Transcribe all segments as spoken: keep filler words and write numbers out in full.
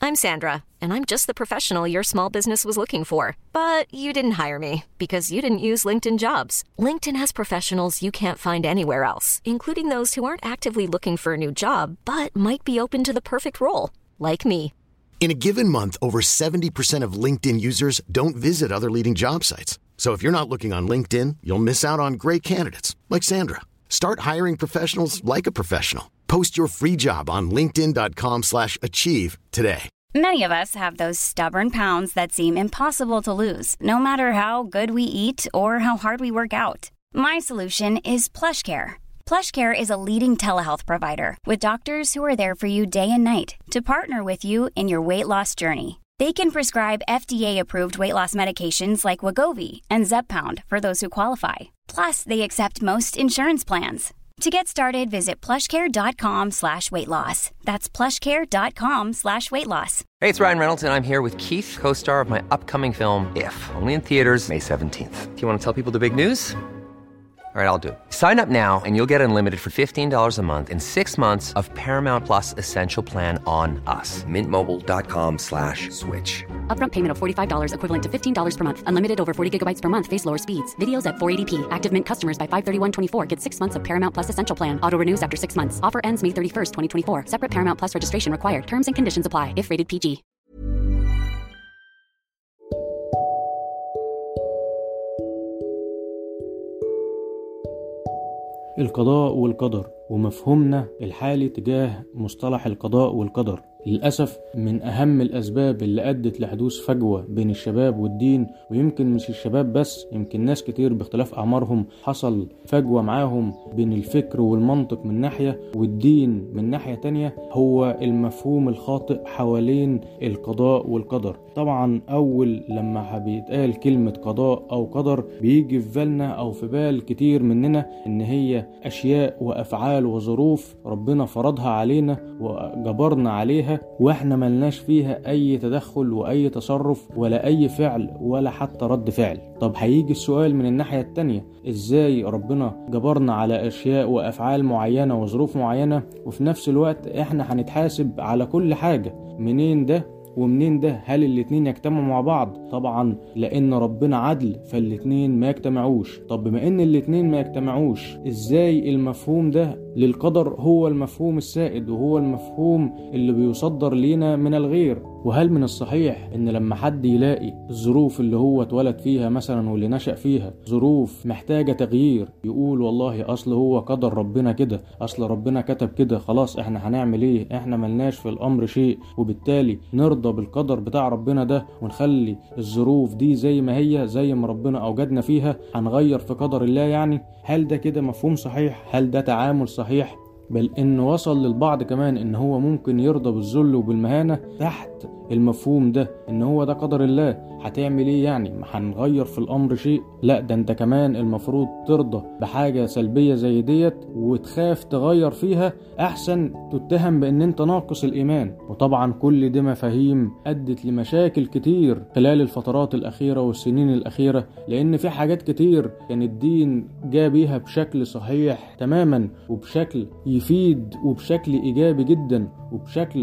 I'm Sandra, and I'm just the professional your small business was looking for. But you didn't hire me because you didn't use LinkedIn Jobs. LinkedIn has professionals you can't find anywhere else, including those who aren't actively looking for a new job, but might be open to the perfect role, like me. In a given month, over seventy percent of LinkedIn users don't visit other leading job sites. So if you're not looking on LinkedIn, you'll miss out on great candidates like Sandra. Start hiring professionals like a professional. Post your free job on linkedin.com slash achieve today. Many of us have those stubborn pounds that seem impossible to lose, no matter how good we eat or how hard we work out. My solution is PlushCare. PlushCare is a leading telehealth provider with doctors who are there for you day and night to partner with you in your weight loss journey. They can prescribe F D A-approved weight loss medications like Wegovy and Zepbound for those who qualify. Plus, they accept most insurance plans. To get started, visit plushcare.com slash weight loss. That's plushcare.com slash weight loss. Hey, it's Ryan Reynolds, and I'm here with Keith, co-star of my upcoming film, If, only in theaters May seventeenth. Do you want to tell people the big news? All right, I'll do it. Sign up now and you'll get unlimited for fifteen dollars a month and six months of Paramount Plus Essential Plan on us. Mintmobile.com slash switch. Upfront payment of forty-five dollars equivalent to fifteen dollars per month. Unlimited over forty gigabytes per month. Face lower speeds. Videos at four eighty p. Active Mint customers by five thirty-one twenty-four get six months of Paramount Plus Essential Plan. Auto renews after six months. Offer ends May thirty-first, twenty twenty-four. Separate Paramount Plus registration required. Terms and conditions apply if rated P G. القضاء والقدر ومفهومنا الحالي تجاه مصطلح القضاء والقدر للأسف من أهم الأسباب اللي أدت لحدوث فجوة بين الشباب والدين، ويمكن مش الشباب بس، يمكن ناس كتير باختلاف أعمارهم حصل فجوة معاهم بين الفكر والمنطق من ناحية والدين من ناحية تانية، هو المفهوم الخاطئ حوالين القضاء والقدر. طبعا أول لما بيتقال كلمة قضاء أو قدر بيجي في بالنا أو في بال كتير مننا إن هي أشياء وأفعال وظروف ربنا فرضها علينا وجبرنا عليها واحنا ملناش فيها اي تدخل واي تصرف ولا اي فعل ولا حتى رد فعل. طب هيجي السؤال من الناحية التانية، ازاي ربنا جبرنا على اشياء وافعال معينة وظروف معينة وفي نفس الوقت احنا هنتحاسب على كل حاجة؟ منين ده ومنين ده؟ هل الاتنين يجتمعوا مع بعض؟ طبعا لان ربنا عدل فالاتنين ما يجتمعوش. طب بما ان الاتنين ما يجتمعوش، ازاي المفهوم ده للقدر هو المفهوم السائد وهو المفهوم اللي بيصدر لينا من الغير؟ وهل من الصحيح ان لما حد يلاقي الظروف اللي هو اتولد فيها مثلا واللي نشأ فيها ظروف محتاجة تغيير يقول والله اصل هو قدر ربنا كده، اصل ربنا كتب كده، خلاص احنا هنعمل ايه، احنا ملناش في الامر شيء، وبالتالي نرضى بالقدر بتاع ربنا ده ونخلي الظروف دي زي ما هي زي ما ربنا اوجدنا فيها، هنغير في قدر الله يعني؟ هل ده كده مفهوم صحيح؟ هل ده تعامل صحيح؟ بل انه وصل للبعض كمان ان هو ممكن يرضى بالذل وبالمهانة تحت المفهوم ده ان هو ده قدر الله. هتعمل ايه يعني؟ ما هنغير في الامر شيء؟ لا، ده انت كمان المفروض ترضى بحاجة سلبية زي ديت وتخاف تغير فيها، احسن تتهم بان انت ناقص الايمان. وطبعا كل دي مفاهيم ادت لمشاكل كتير خلال الفترات الاخيرة والسنين الاخيرة، لان في حاجات كتير كان الدين جاء بيها بشكل صحيح تماما وبشكل يفيد وبشكل ايجابي جدا وبشكل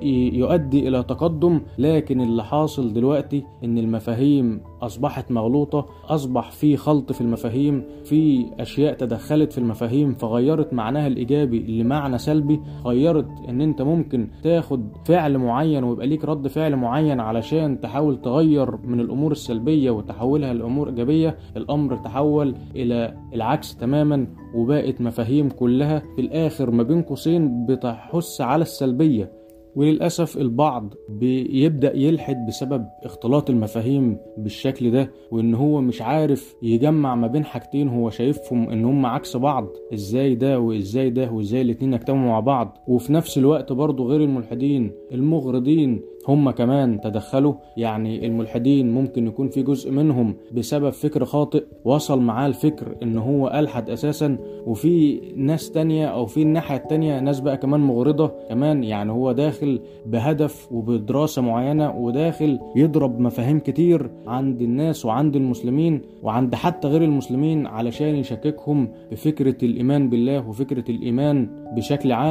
يؤدي الى تقدم، لكن اللي حاصل دلوقتي ان المفاهيم اصبحت مغلوطة، اصبح في خلط في المفاهيم، في اشياء تدخلت في المفاهيم فغيرت معناها الايجابي لمعنى سلبي، غيرت ان انت ممكن تاخد فعل معين ويبقى ليك رد فعل معين علشان تحاول تغير من الامور السلبية وتحولها لامور ايجابية. الامر تحول الى العكس تماما، وبقت مفاهيم كلها في الاخر ما بين قوسين بتحث على السلبية. وللأسف البعض بيبدأ يلحد بسبب اختلاط المفاهيم بالشكل ده، وان هو مش عارف يجمع ما بين حاجتين هو شايفهم ان هم عكس بعض، ازاي ده وازاي ده وازاي الاتنين يجتمعوا مع بعض. وفي نفس الوقت برضو غير الملحدين المغرضين هم كمان تدخلوا، يعني الملحدين ممكن يكون في جزء منهم بسبب فكر خاطئ وصل معاه الفكر ان هو ألحد اساسا، وفي ناس تانية او في الناحية التانية ناس بقى كمان مغرضة كمان، يعني هو داخل بهدف وبدراسة معينة وداخل يضرب مفاهيم كتير عند الناس وعند المسلمين وعند حتى غير المسلمين علشان يشككهم بفكرة الإيمان بالله وفكرة الإيمان بشكل عام.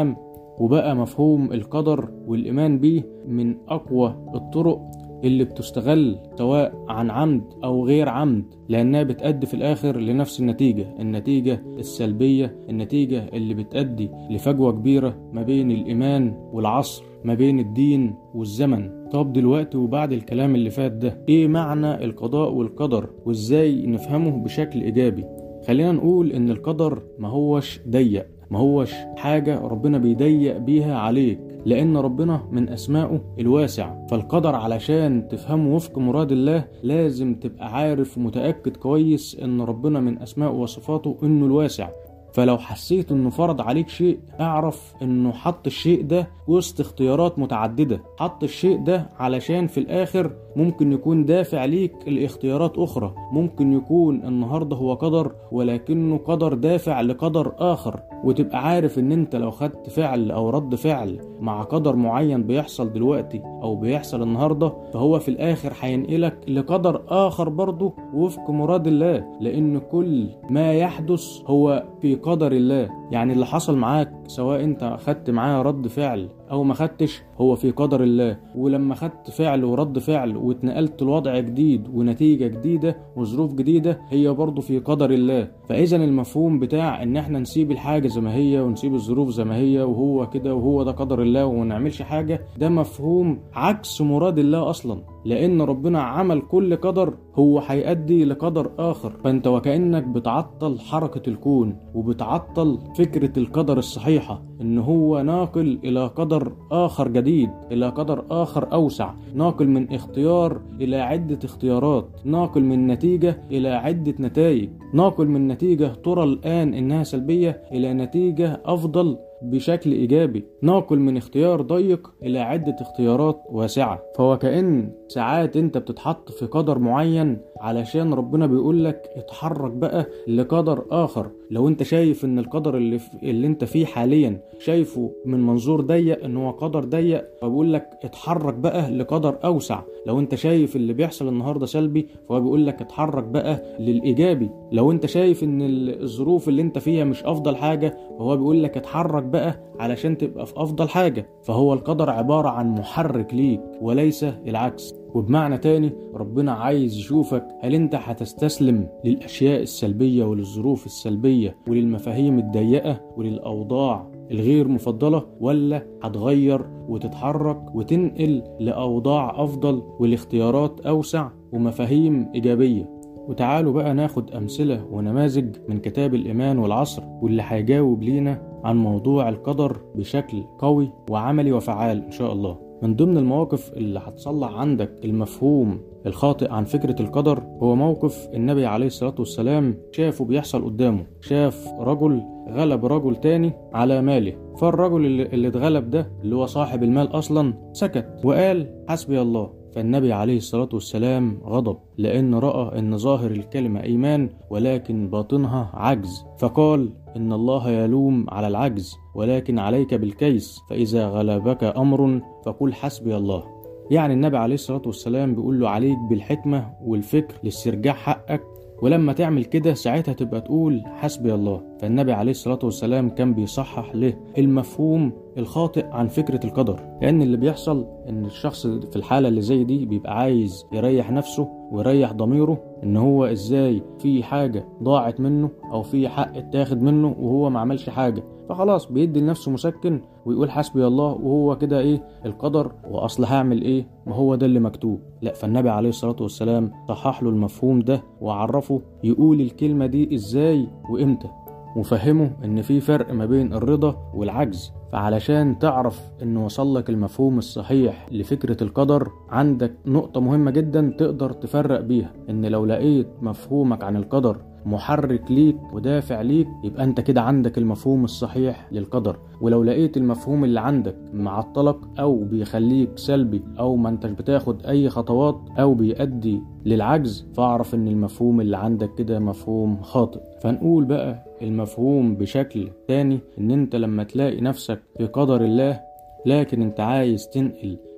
وبقى مفهوم القدر والإيمان بيه من أقوى الطرق اللي بتستغل سواء عن عمد أو غير عمد، لأنها بتأدي في الآخر لنفس النتيجة، النتيجة السلبية، النتيجة اللي بتأدي لفجوة كبيرة ما بين الإيمان والعصر، ما بين الدين والزمن. طب دلوقتي وبعد الكلام اللي فات ده، إيه معنى القضاء والقدر وإزاي نفهمه بشكل إيجابي؟ خلينا نقول إن القدر ما هوش ضيق، ما هوش حاجة ربنا بيضيق بيها عليك، لأن ربنا من أسمائه الواسع. فالقدر علشان تفهمه وفق مراد الله لازم تبقى عارف ومتأكد كويس إن ربنا من أسمائه وصفاته إنه الواسع. فلو حسيت إنه فرض عليك شيء، اعرف إنه حط الشيء ده وسط اختيارات متعددة، حط الشيء ده علشان في الآخر ممكن يكون دافع ليك الاختيارات أخرى، ممكن يكون النهاردة هو قدر ولكنه قدر دافع لقدر آخر. وتبقى عارف إن أنت لو خدت فعل أو رد فعل مع قدر معين بيحصل دلوقتي أو بيحصل النهاردة، فهو في الآخر هينقلك لقدر آخر برضه وفق مراد الله، لأن كل ما يحدث هو في قدر الله. يعني اللي حصل معاك سواء انت خدت معاه رد فعل او ما خدتش هو في قدر الله، ولما خدت فعل ورد فعل واتنقلت لوضع جديد ونتيجة جديدة وظروف جديدة هي برضو في قدر الله. فاذا المفهوم بتاع ان احنا نسيب الحاجة زي ما هي ونسيب الظروف زي ما هي وهو كده وهو ده قدر الله وما نعملش حاجة، ده مفهوم عكس مراد الله اصلا، لان ربنا عمل كل قدر هو هيؤدي لقدر اخر. فانت وكأنك بتعطل حركة الكون وبتعطل فكرة القدر الصحيحة، ان هو ناقل الى قدر اخر جديد، الى قدر اخر اوسع، ناقل من اختيار الى عدة اختيارات، ناقل من نتيجة الى عدة نتائج، ناقل من نتيجة ترى الان انها سلبية الى نتيجة افضل بشكل إيجابي، ناقل من اختيار ضيق إلى عدة اختيارات واسعة. فهو كأن ساعات أنت بتتحط في قدر معين علشان ربنا بيقولك اتحرك بقى لقدر آخر. لو أنت شايف أن القدر اللي, اللي أنت فيه حاليا شايفه من منظور ضيق أنه هو قدر ضيق، فبيقولك اتحرك بقى لقدر أوسع. لو أنت شايف اللي بيحصل النهاردة سلبي فهو بيقولك اتحرك بقى للإيجابي. لو أنت شايف أن الظروف اللي أنت فيها مش أفضل حاجة فهو بيقولك اتحرك بقى علشان تبقى في أفضل حاجة. فهو القدر عبارة عن محرك ليك وليس العكس. وبمعنى تاني ربنا عايز يشوفك هل انت هتستسلم للأشياء السلبية وللظروف السلبية وللمفاهيم الضيقة وللأوضاع الغير مفضلة، ولا هتغير وتتحرك وتنقل لأوضاع أفضل والاختيارات أوسع ومفاهيم إيجابية. وتعالوا بقى ناخد أمثلة ونماذج من كتاب الإيمان والعصر واللي هيجاوب لينا عن موضوع القدر بشكل قوي وعملي وفعال إن شاء الله. من ضمن المواقف اللي هتصلح عندك المفهوم الخاطئ عن فكرة القدر هو موقف النبي عليه الصلاة والسلام شافه بيحصل قدامه. شاف رجل غلب رجل تاني على ماله، فالرجل اللي اتغلب ده اللي هو صاحب المال أصلا سكت وقال حسبي الله. فالنبي عليه الصلاة والسلام غضب لأن رأى أن ظاهر الكلمة إيمان ولكن باطنها عجز، فقال إن الله يلوم على العجز ولكن عليك بالكيس، فإذا غلبك أمر فقل حسبي الله. يعني النبي عليه الصلاة والسلام بيقول له عليك بالحكمة والفكر لاسترجاع حقك، ولما تعمل كده ساعتها تبقى تقول حسبي الله. فالنبي عليه الصلاة والسلام كان بيصحح له المفهوم الخاطئ عن فكرة القدر، لأن اللي بيحصل إن الشخص في الحالة اللي زي دي بيبقى عايز يريح نفسه ويريح ضميره إن هو إزاي في حاجة ضاعت منه أو في حق اتاخد منه وهو ما عملش حاجة، فخلاص بيدي لنفسه مسكن ويقول حسبي الله وهو كده إيه القدر وأصل هعمل إيه ما هو ده اللي مكتوب. لا، فالنبي عليه الصلاة والسلام صحح له المفهوم ده وعرفه يقول الكلمة دي إزاي وإمتى، وفهمه إن في فرق ما بين الرضا والعجز. فعلشان تعرف إن وصلك المفهوم الصحيح لفكرة القدر عندك نقطة مهمة جدا تقدر تفرق بيها، إن لو لقيت مفهومك عن القدر محرك ليك ودافع ليك يبقى انت كده عندك المفهوم الصحيح للقدر. ولو لقيت المفهوم اللي عندك معطلك او بيخليك سلبي او ما انتش بتاخد اي خطوات او بيؤدي للعجز، فاعرف ان المفهوم اللي عندك كده مفهوم خاطئ. فنقول بقى المفهوم بشكل تاني، ان انت لما تلاقي نفسك في قدر الله لكن انت عايز تنقل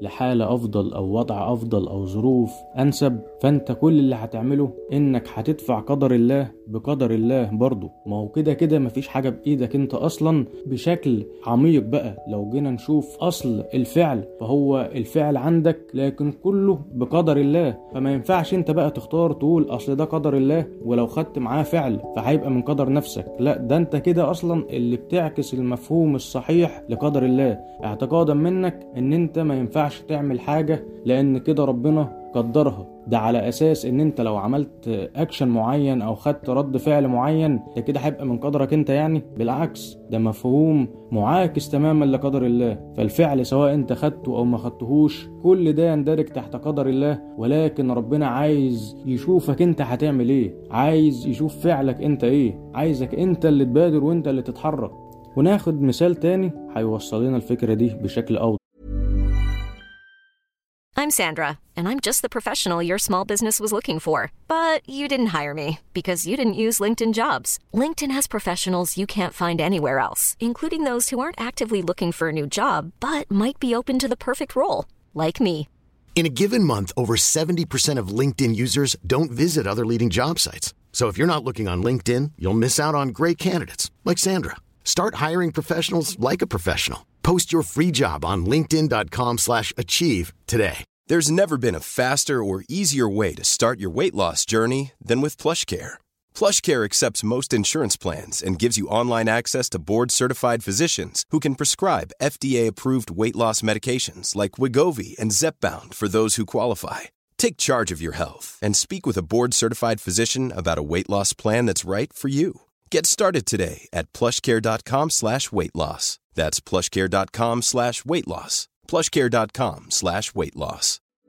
لحالة افضل او وضع افضل او ظروف انسب، فانت كل اللي هتعمله انك هتدفع قدر الله بقدر الله برضو. ما هو كده كده مفيش حاجة بايدك انت اصلا بشكل عميق بقى. لو جينا نشوف اصل الفعل فهو الفعل عندك لكن كله بقدر الله، فما ينفعش انت بقى تختار تقول اصل ده قدر الله ولو خدت معاه فعل فهيبقى من قدر نفسك. لا، ده انت كده اصلا اللي بتعكس المفهوم الصحيح لقدر الله، اعتقادا منك ان انت ما ينفعش تعمل حاجة لان كده ربنا قدرها. ده على اساس ان انت لو عملت اكشن معين او خدت رد فعل معين ده كده هيبقى من قدرك انت. يعني بالعكس، ده مفهوم معاكس تماما لقدر الله. فالفعل سواء انت خدته او ما خدتهوش كل ده يندرج تحت قدر الله، ولكن ربنا عايز يشوفك انت هتعمل ايه، عايز يشوف فعلك انت ايه، عايزك انت اللي تبادر وانت اللي تتحرك. وناخد مثال تاني هيوصلنا الفكرة دي بشكل أوضح. I'm Sandra, and I'm just the professional your small business was looking for. But you didn't hire me because you didn't use LinkedIn Jobs. LinkedIn has professionals you can't find anywhere else, including those who aren't actively looking for a new job, but might be open to the perfect role, like me. In a given month, over seventy percent of LinkedIn users don't visit other leading job sites. So if you're not looking on LinkedIn, you'll miss out on great candidates like Sandra. Start hiring professionals like a professional. Post your free job on linkedin dot com slash achieve today. There's never been a faster or easier way to start your weight loss journey than with PlushCare. PlushCare accepts most insurance plans and gives you online access to board-certified physicians who can prescribe F D A-approved weight loss medications like Wegovy and Zepbound for those who qualify. Take charge of your health and speak with a board-certified physician about a weight loss plan that's right for you. Get started today at plushcare.com slash weight loss. That's plushcare.com slash weight loss. plushcare.com slash weight loss.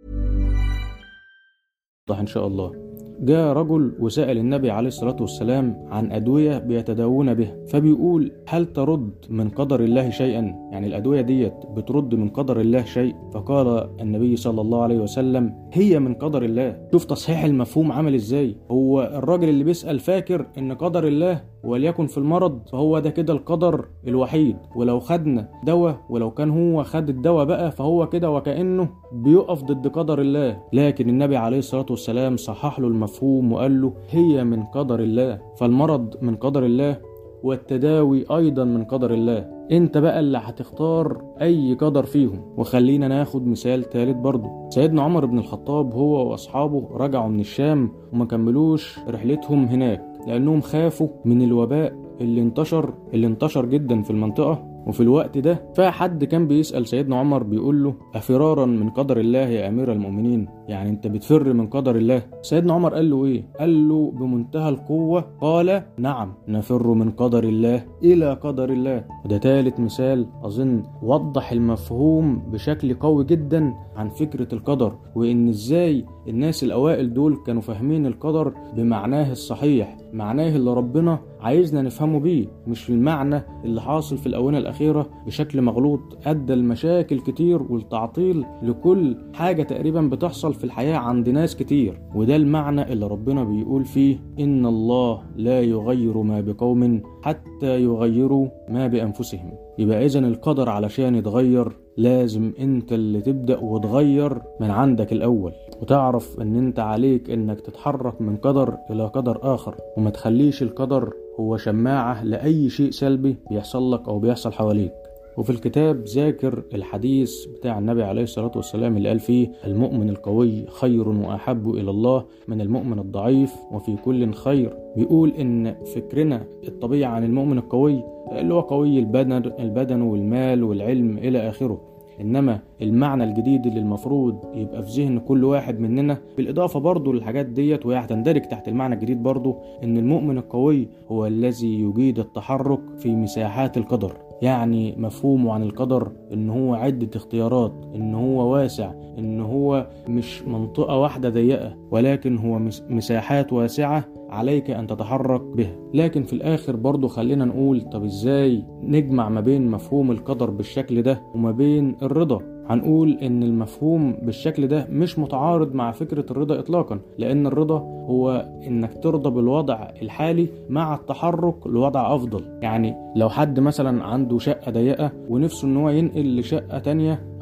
إن شاء الله. جاء رجل وسأل النبي عليه الصلاة والسلام عن أدوية بيتداوون بها، فبيقول هل ترد من قدر الله شيئا؟ يعني الأدوية ديت بترد من قدر الله شيء؟ فقال النبي صلى الله عليه وسلم هي من قدر الله. شوف تصحيح المفهوم عمل ازاي. هو الراجل اللي بيسأل فاكر ان قدر الله وليكن في المرض فهو ده كده القدر الوحيد، ولو خدنا دواء ولو كان هو خد الدواء بقى فهو كده وكأنه بيقف ضد قدر الله. لكن النبي عليه الصلاة والسلام صحح له المفهوم وقال له هي من قدر الله. فالمرض من قدر الله والتداوي أيضا من قدر الله. انت بقى اللي هتختار اي قدر فيهم. وخلينا ناخد مثال ثالث برضو. سيدنا عمر بن الخطاب هو واصحابه رجعوا من الشام وما كملوش رحلتهم هناك لانهم خافوا من الوباء اللي انتشر اللي انتشر جدا في المنطقة. وفي الوقت ده فحد كان بيسأل سيدنا عمر بيقول له أفرارا من قدر الله يا أمير المؤمنين؟ يعني انت بتفر من قدر الله؟ سيدنا عمر قال له ايه؟ قال له بمنتهى القوة، قال نعم نفر من قدر الله إلى قدر الله. وده ثالث مثال أظن وضح المفهوم بشكل قوي جدا عن فكرة القدر، وإن ازاي الناس الأوائل دول كانوا فاهمين القدر بمعناه الصحيح، معناه اللي ربنا عايزنا نفهمه بيه، مش المعنى اللي حاصل في الأونة الأخيرة بشكل مغلوط أدى المشاكل كتير والتعطيل لكل حاجة تقريبا بتحصل في الحياة عند ناس كتير. وده المعنى اللي ربنا بيقول فيه إن الله لا يغير ما بقوم حتى يغيروا ما بأنفسهم. يبقى إذن القدر علشان يتغير لازم انت اللي تبدأ وتغير من عندك الأول، وتعرف ان انت عليك انك تتحرك من قدر الى قدر آخر، وما تخليش القدر هو شماعة لأي شيء سلبي بيحصل لك أو بيحصل حواليك. وفي الكتاب ذاكر الحديث بتاع النبي عليه الصلاة والسلام اللي قال فيه المؤمن القوي خير وأحب إلى الله من المؤمن الضعيف وفي كل خير. بيقول إن فكرنا الطبيعي عن المؤمن القوي اللي هو قوي البدن البدن والمال والعلم إلى آخره، إنما المعنى الجديد اللي المفروض يبقى في ذهن كل واحد مننا بالإضافة برضو للحاجات ديت وهي هتندرج تحت المعنى الجديد برضو، إن المؤمن القوي هو الذي يجيد التحرك في مساحات القدر. يعني مفهومه عن القدر إن هو عدة اختيارات، إن هو واسع، إن هو مش منطقة واحدة ضيقة، ولكن هو مساحات واسعة عليك أن تتحرك بها. لكن في الآخر برضو خلينا نقول طب إزاي نجمع ما بين مفهوم القدر بالشكل ده وما بين الرضا؟ هنقول إن المفهوم بالشكل ده مش متعارض مع فكرة الرضا إطلاقا، لأن الرضا هو إنك ترضى بالوضع الحالي مع التحرك لوضع أفضل. يعني لو حد مثلا عنده شقة ضيقة ونفسه إن هو ينقل لشقة تانية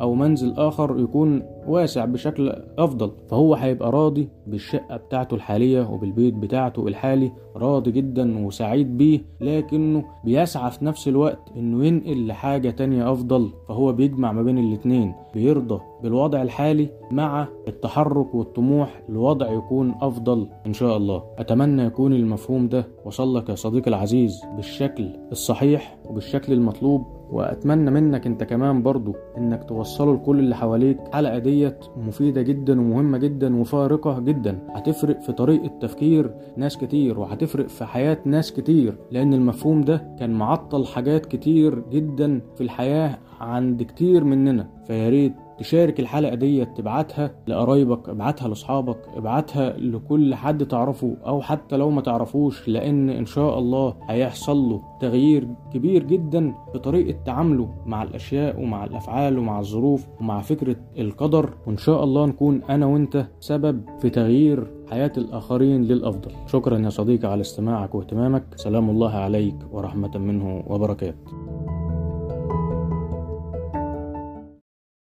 او منزل اخر يكون واسع بشكل افضل، فهو هيبقى راضي بالشقة بتاعته الحالية وبالبيت بتاعته الحالي، راضي جدا وسعيد بيه، لكنه بيسعى في نفس الوقت انه ينقل لحاجة تانية افضل. فهو بيجمع ما بين الاتنين، بيرضى بالوضع الحالي مع التحرك والطموح لوضع يكون افضل ان شاء الله. اتمنى يكون المفهوم ده وصل لك يا صديقي العزيز بالشكل الصحيح وبالشكل المطلوب، واتمنى منك انت كمان برضو انك توصله لكل اللي حواليك. الحلقة ديت مفيدة جدا ومهمة جدا وفارقة جدا، هتفرق في طريقة تفكير ناس كتير وهتفرق في حياة ناس كتير، لان المفهوم ده كان معطل حاجات كتير جدا في الحياة عند كتير مننا. فياريت تشارك الحلقة دي، تبعتها لقرايبك، ابعتها لاصحابك، ابعتها لكل حد تعرفه او حتى لو ما تعرفوش، لان ان شاء الله هيحصل له تغيير كبير جدا في طريقة تعامله مع الاشياء ومع الافعال ومع الظروف ومع فكرة القدر، وان شاء الله نكون انا وانت سبب في تغيير حياة الآخرين للأفضل. شكرا يا صديقي على استماعك واهتمامك. سلام الله عليك ورحمة منه وبركاته.